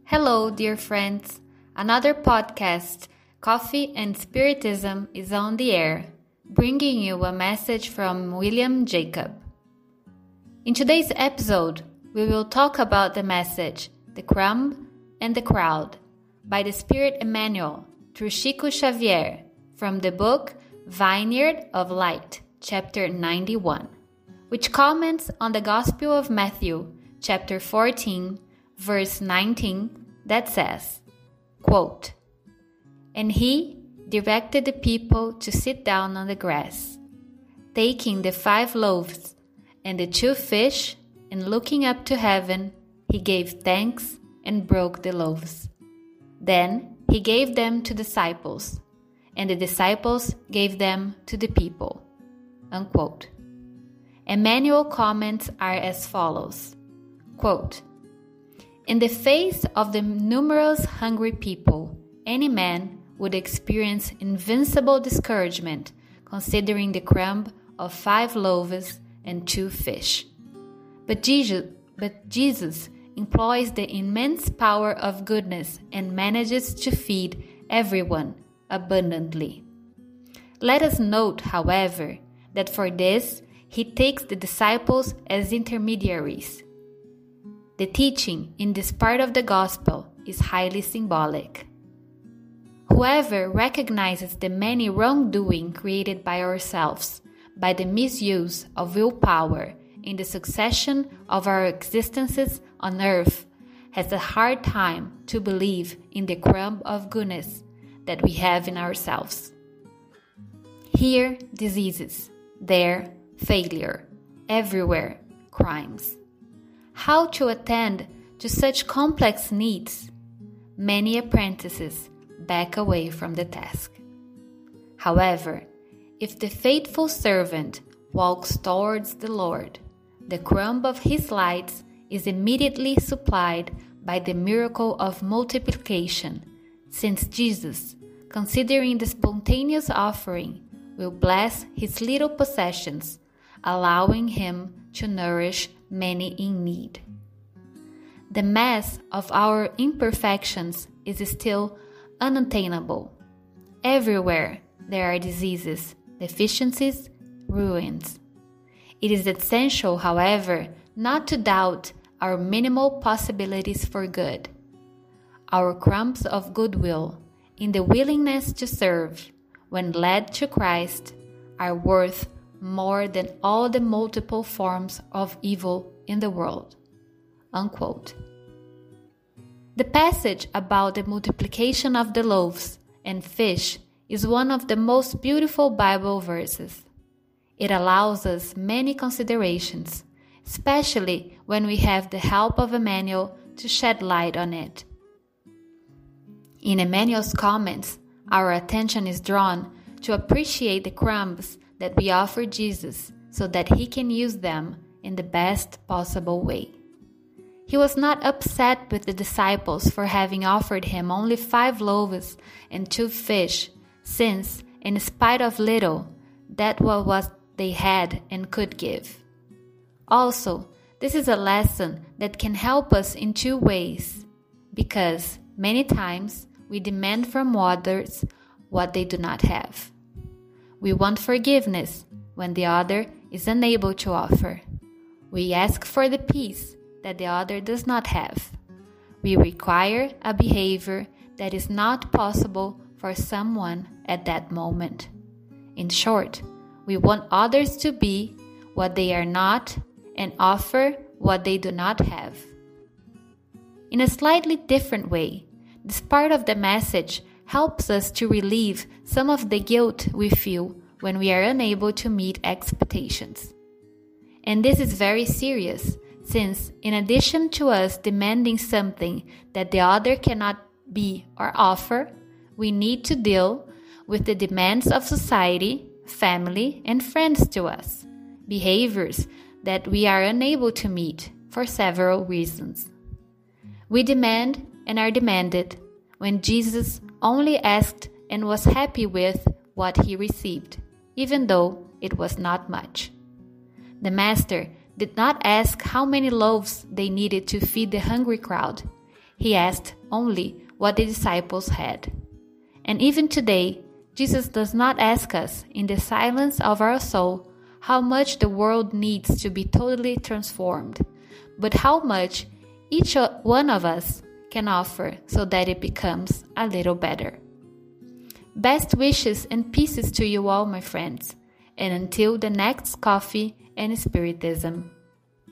Hello, dear friends. Another podcast, Coffee and Spiritism, is on the air, bringing you a message from William Jacob. In today's episode, we will talk about the message, The Crumb and the Crowd, by the Spirit Emmanuel through Chico Xavier, from the book Vineyard of Light, chapter 91, which comments on the Gospel of Matthew, chapter 14, verse 19, that says, quote, "And he directed the people to sit down on the grass, taking the 5 loaves and the 2 fish, and looking up to heaven, he gave thanks and broke the loaves. Then he gave them to disciples, and the disciples gave them to the people." Unquote. Emmanuel comments are as follows, quote, "In the face of the numerous hungry people, any man would experience invincible discouragement considering the crumb of 5 loaves and 2 fish. But Jesus employs the immense power of goodness and manages to feed everyone abundantly. Let us note, however, that for this, he takes the disciples as intermediaries. The teaching in this part of the gospel is highly symbolic. Whoever recognizes the many wrongdoing created by ourselves, by the misuse of willpower in the succession of our existences on earth, has a hard time to believe in the crumb of goodness that we have in ourselves. Here, diseases, there, failure, everywhere, crimes. How to attend to such complex needs? Many apprentices back away from the task. However, if the faithful servant walks towards the Lord, the crumb of his lights is immediately supplied by the miracle of multiplication, since Jesus, considering the spontaneous offering, will bless his little possessions, allowing him to nourish many in need. The mass of our imperfections is still unattainable. Everywhere there are diseases, deficiencies, ruins. It is essential, however, not to doubt our minimal possibilities for good. Our crumbs of goodwill, in the willingness to serve, when led to Christ, are worth more than all the multiple forms of evil in the world." Unquote. The passage about the multiplication of the loaves and fish is one of the most beautiful Bible verses. It allows us many considerations, especially when we have the help of Emmanuel to shed light on it. In Emmanuel's comments, our attention is drawn to appreciate the crumbs that we offer Jesus so that he can use them in the best possible way. He was not upset with the disciples for having offered him only 5 loaves and 2 fish, since, in spite of little, that was what they had and could give. Also, this is a lesson that can help us in 2 ways, because many times we demand from others what they do not have. We want forgiveness when the other is unable to offer. We ask for the peace that the other does not have. We require a behavior that is not possible for someone at that moment. In short, we want others to be what they are not and offer what they do not have. In a slightly different way, this part of the message helps us to relieve some of the guilt we feel when we are unable to meet expectations. And this is very serious, since in addition to us demanding something that the other cannot be or offer, we need to deal with the demands of society, family, and friends to us, behaviors that we are unable to meet for several reasons. We demand and are demanded when Jesus only asked and was happy with what he received, even though it was not much. The master did not ask how many loaves they needed to feed the hungry crowd. He asked only what the disciples had. And even today, Jesus does not ask us, in the silence of our soul, how much the world needs to be totally transformed, but how much each one of us can offer so that it becomes a little better. Best wishes and pieces to you all, my friends, and until the next Coffee and Spiritism.